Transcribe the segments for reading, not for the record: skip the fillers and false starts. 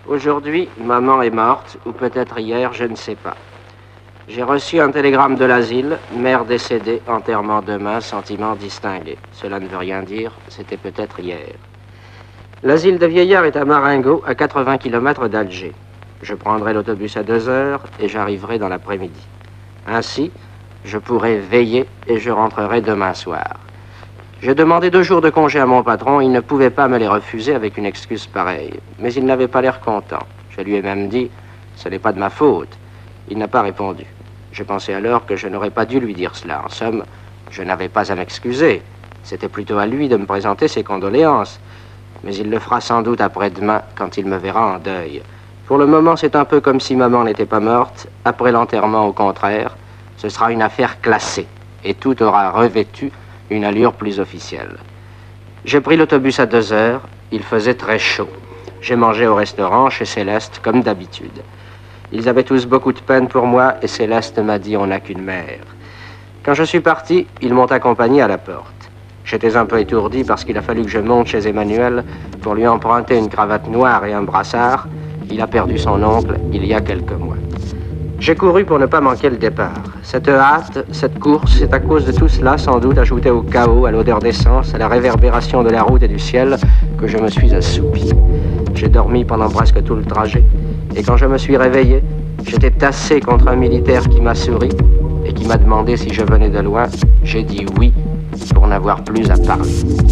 Aujourd'hui, maman est morte, ou peut-être hier, je ne sais pas. J'ai reçu un télégramme de l'asile, mère décédée, enterrement demain, sentiment distingué. Cela ne veut rien dire, c'était peut-être hier. L'asile de vieillards est à Marengo, à 80 km d'Alger. Je prendrai l'autobus à 2 heures et j'arriverai dans l'après-midi. Ainsi, je pourrai veiller et je rentrerai demain soir. J'ai demandé 2 jours de congé à mon patron, il ne pouvait pas me les refuser avec une excuse pareille. Mais il n'avait pas l'air content. Je lui ai même dit, ce n'est pas de ma faute. Il n'a pas répondu. Je pensais alors que je n'aurais pas dû lui dire cela. En somme, je n'avais pas à m'excuser. C'était plutôt à lui de me présenter ses condoléances. Mais il le fera sans doute après-demain, quand il me verra en deuil. Pour le moment, c'est un peu comme si maman n'était pas morte. Après l'enterrement, au contraire, ce sera une affaire classée. Et tout aura revêtu une allure plus officielle. J'ai pris l'autobus à 2 heures. Il faisait très chaud. J'ai mangé au restaurant chez Céleste, comme d'habitude. Ils avaient tous beaucoup de peine pour moi et Céleste m'a dit « on n'a qu'une mère ». Quand je suis parti, ils m'ont accompagné à la porte. J'étais un peu étourdi parce qu'il a fallu que je monte chez Emmanuel pour lui emprunter une cravate noire et un brassard. Il a perdu son oncle il y a quelques mois. J'ai couru pour ne pas manquer le départ. Cette hâte, cette course, c'est à cause de tout cela, sans doute, ajouté au chaos, à l'odeur d'essence, à la réverbération de la route et du ciel, que je me suis assoupi. J'ai dormi pendant presque tout le trajet. Et quand je me suis réveillé, j'étais tassé contre un militaire qui m'a souri et qui m'a demandé si je venais de loin. J'ai dit oui, pour n'avoir plus à parler.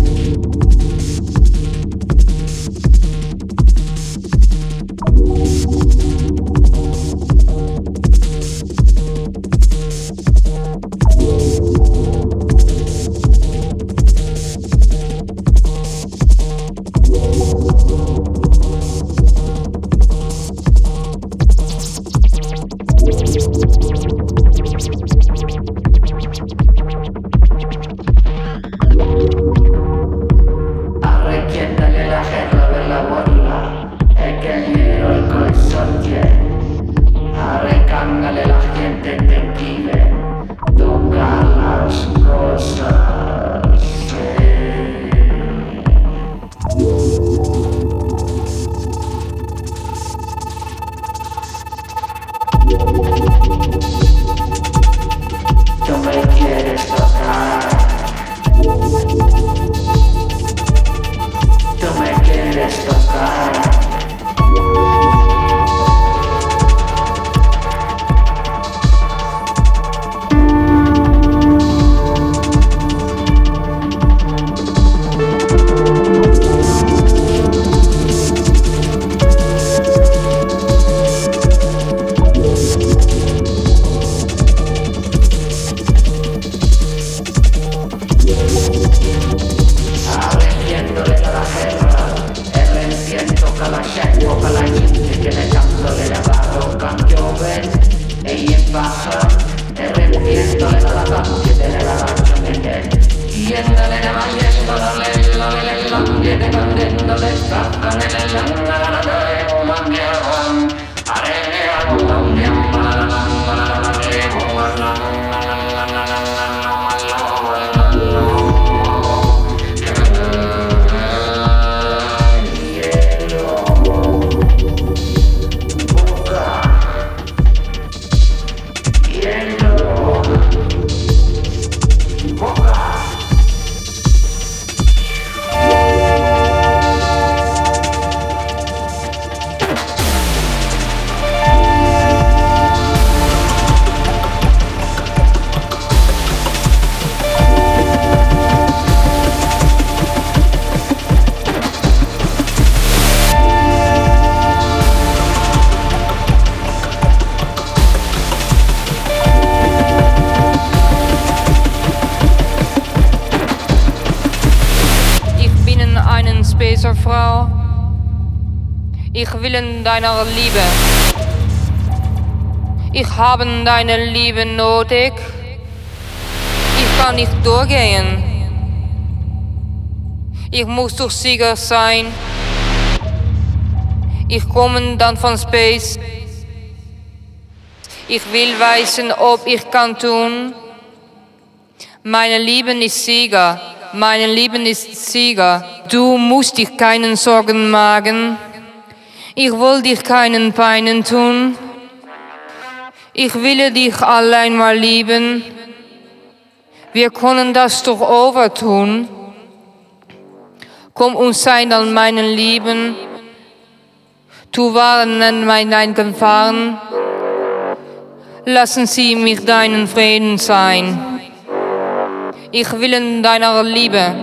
Frau, ich will in deiner Liebe. Ich habe deine Liebe nötig. Ich kann nicht durchgehen. Ich muss doch sicher sein. Ich komme dann von Space. Ich will wissen, ob ich kann tun. Meine Liebe ist Sieger. Meine Liebe ist Sieger. Du musst dich keinen Sorgen machen. Ich will dich keinen Peinen tun. Ich will dich allein mal lieben. Wir können das doch overtun. Komm und sei dann meinen Lieben. Tu warnen mein Gefahren. Lassen Sie mich deinen Frieden sein. Ich will in deiner Liebe.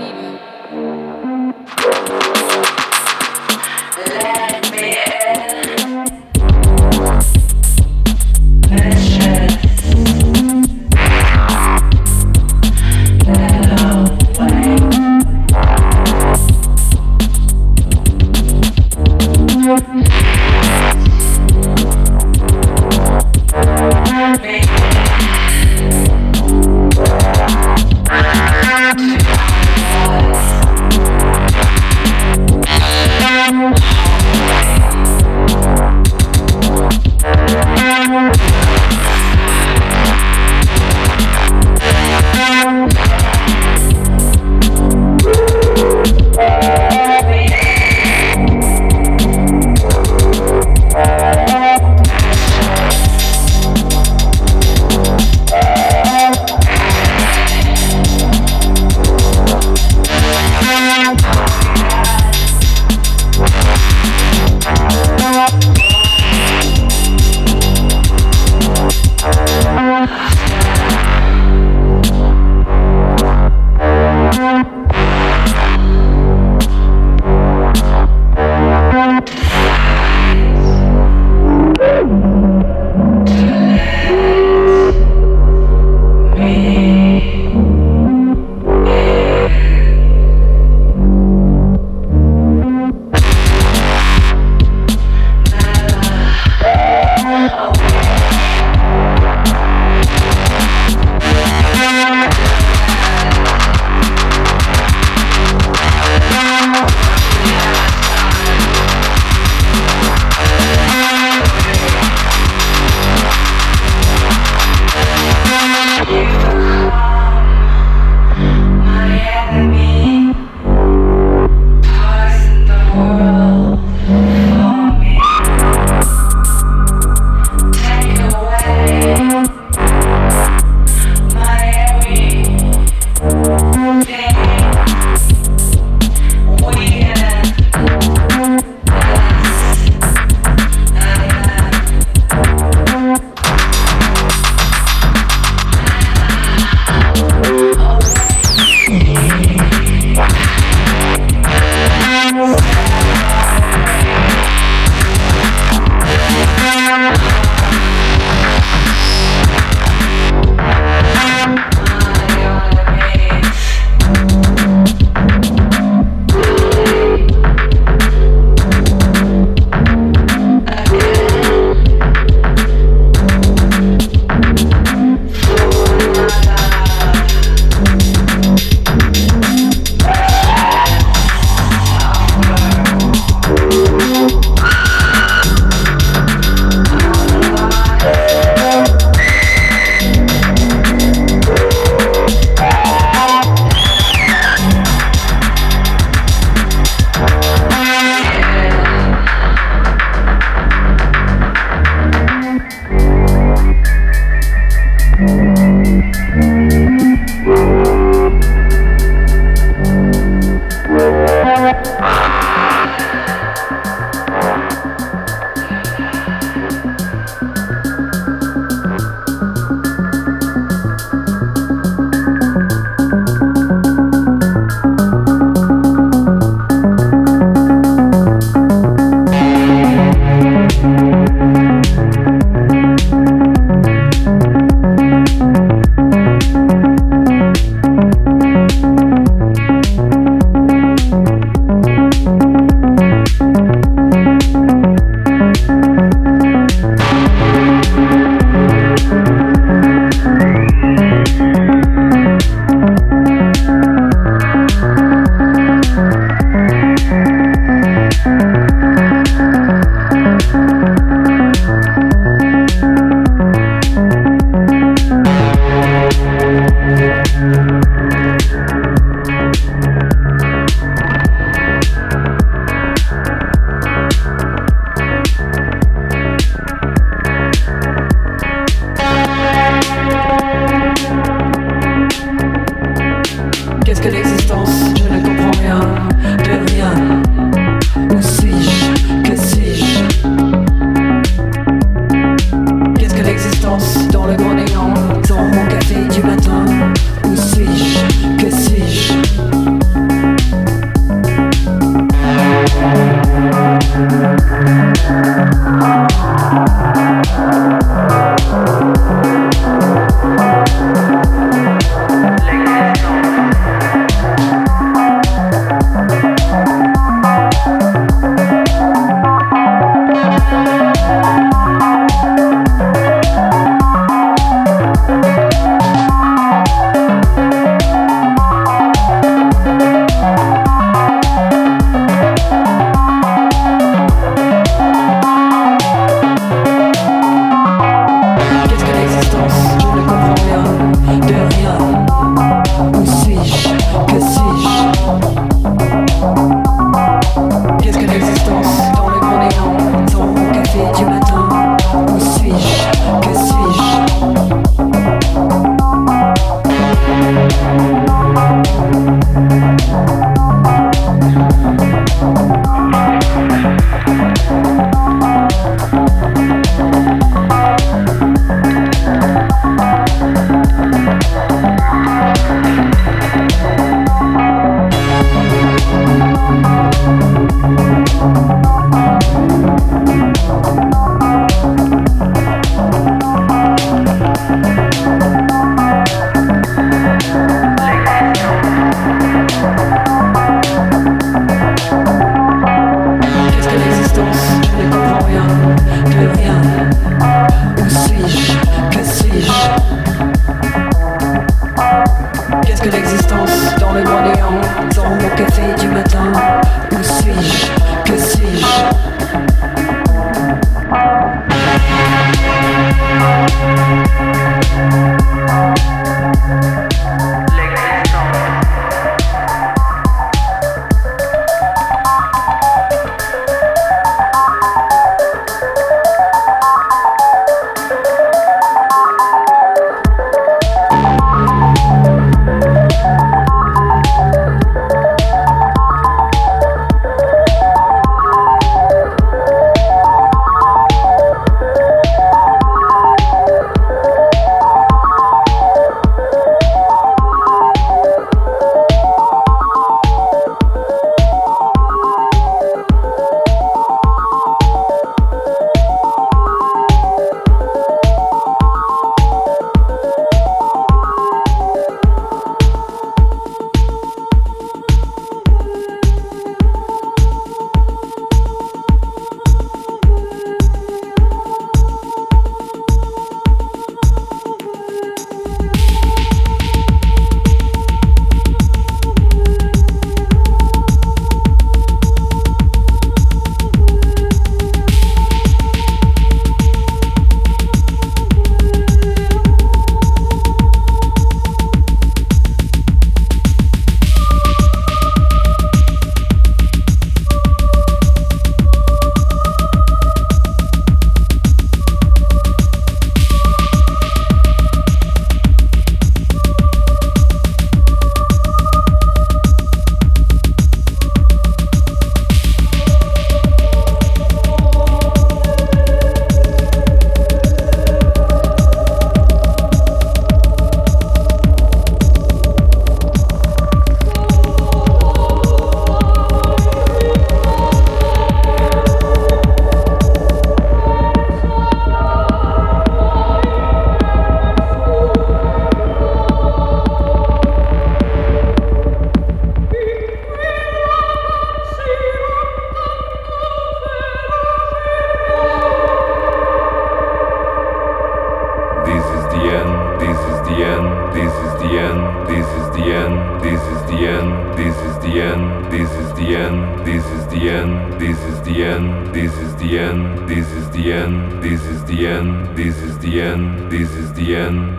this is the end, this is the end, this is the end, this is the end, this is the end, this is the end, this is the end, this is the end, this is the end, this is the end, this is the end, this is the end.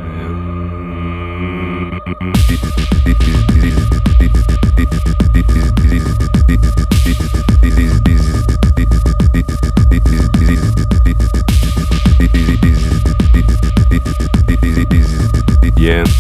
Yeah.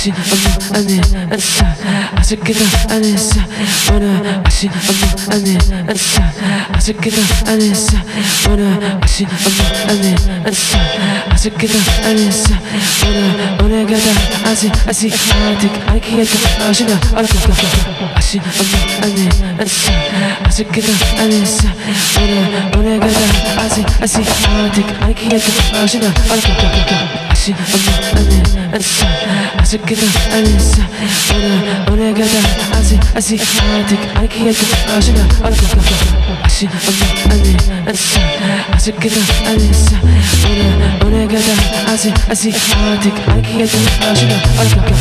عشان أنا أنسى عشان كده أنا أنسى وأنا عشان أنا أنسى عشان كده أنا أنسى وأنا عشان أنا أنسى عشان كده أنا أنسى وأنا قاعدة أسي حياتك عليك يا عشان أركض عشان أنا أنسى عشان كده أنا أنسى وأنا قاعدة أسي حياتك عليك يا عشان أركض عشان أنا أنسى عشان كده أنا أنسى وأنا قاعدة أسي حياتك عليك يا عشان أركض عشان أنا أنسى عشان كده أنا أنسى وأنا قاعدة أسي حياتك عليك يا عشان أركض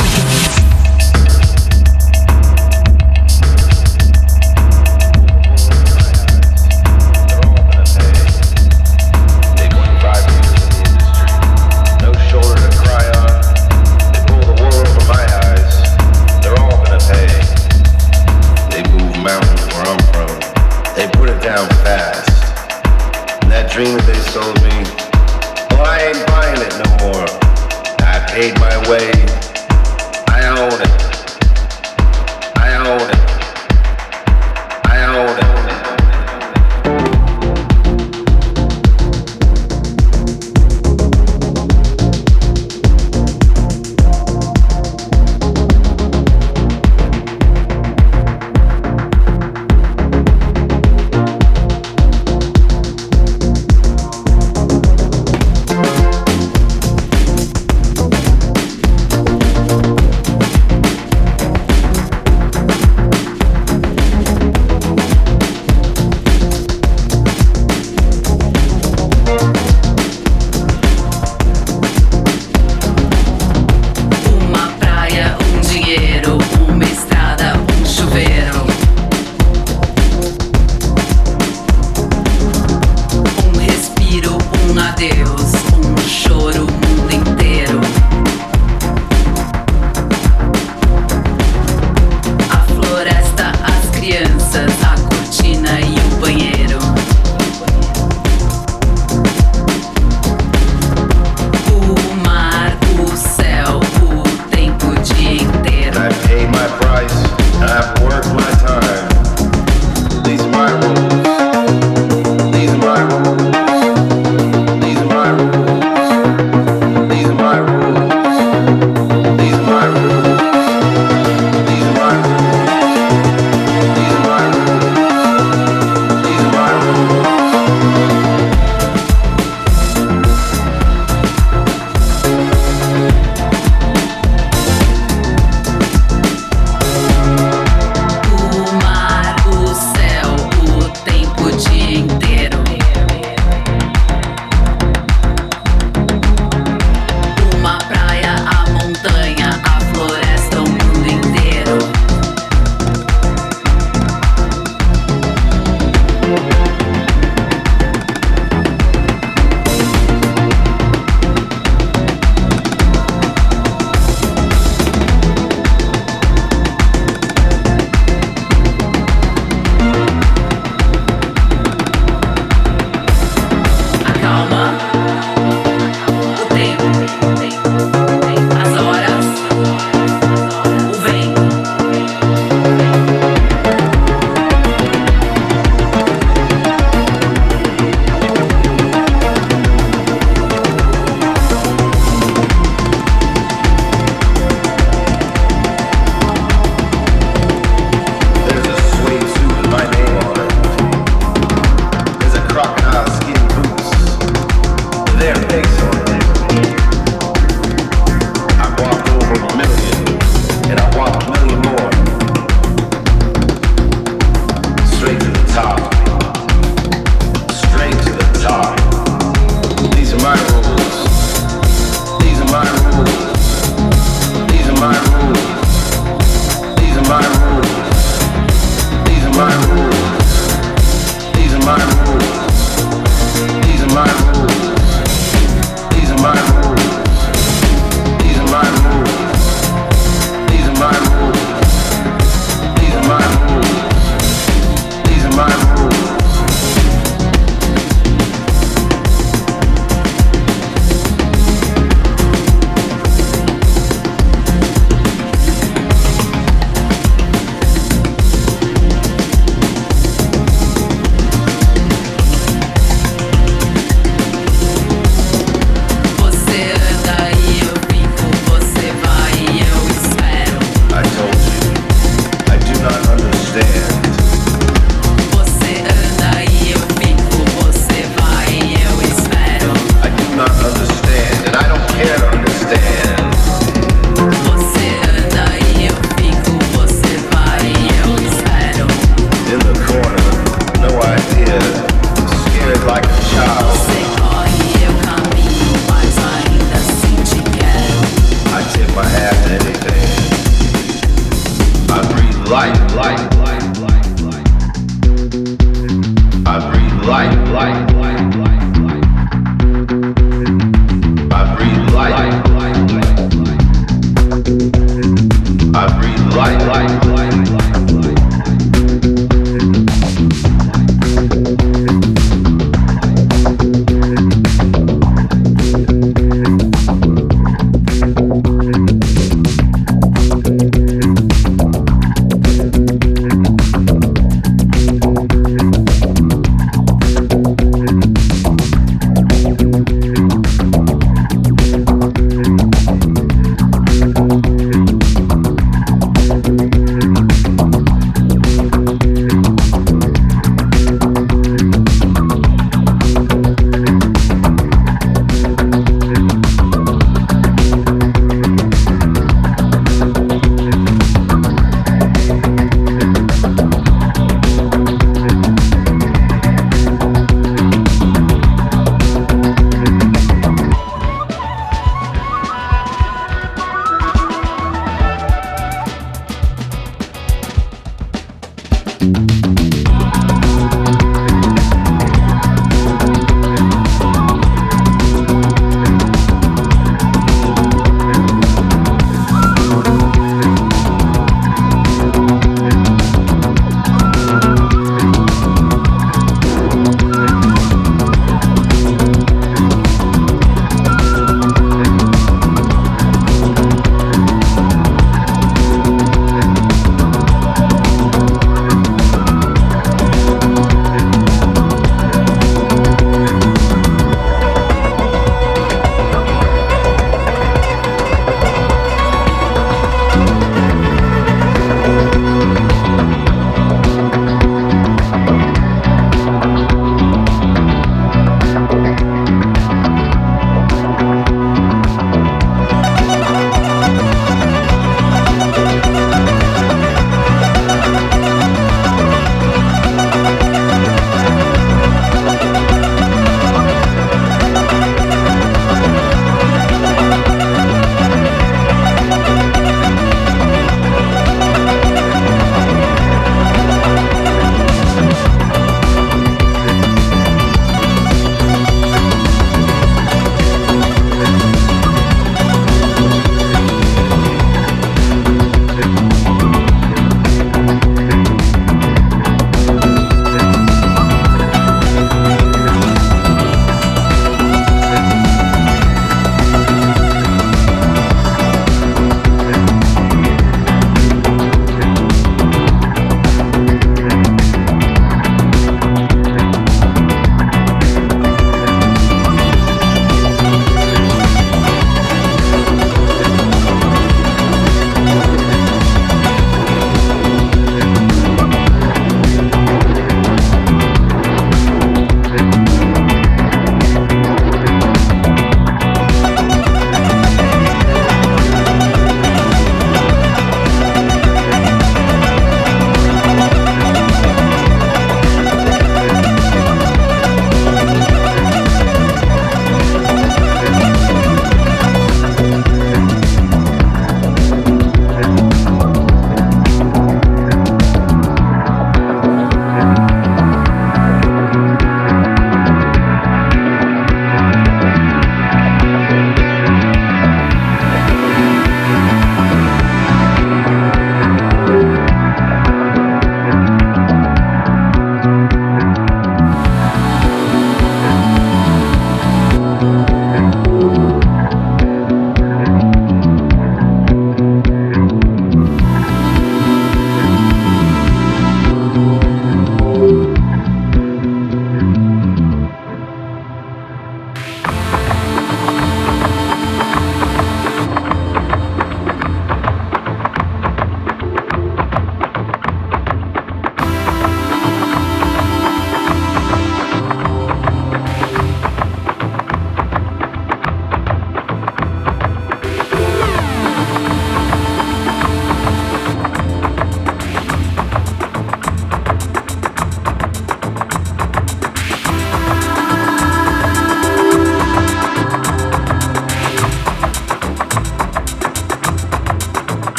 Dream that they sold me, oh, I ain't buying it no more. I paid my way, I own it, I own it, I own it.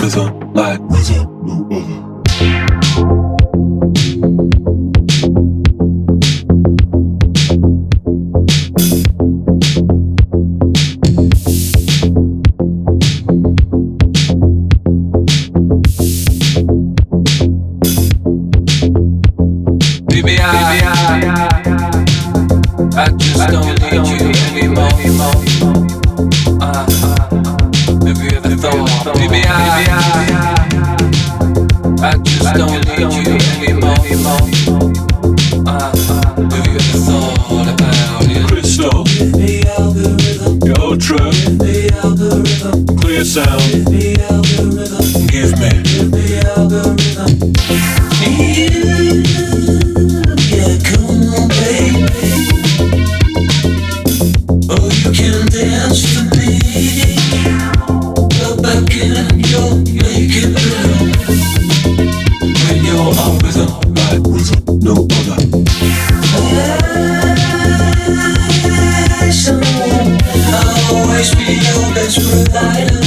rhythm like rhythm no other. I just don't need you anymore. Have you ever thought, baby, I just don't need you anymore. Have you ever thought about it? Crystal, your truck, clear sound, give me. Yeah, come on, baby. Oh, you can dance for me. Go back in your naked room. When you're on rhythm, Like rhythm no other. I'll always be your best provider.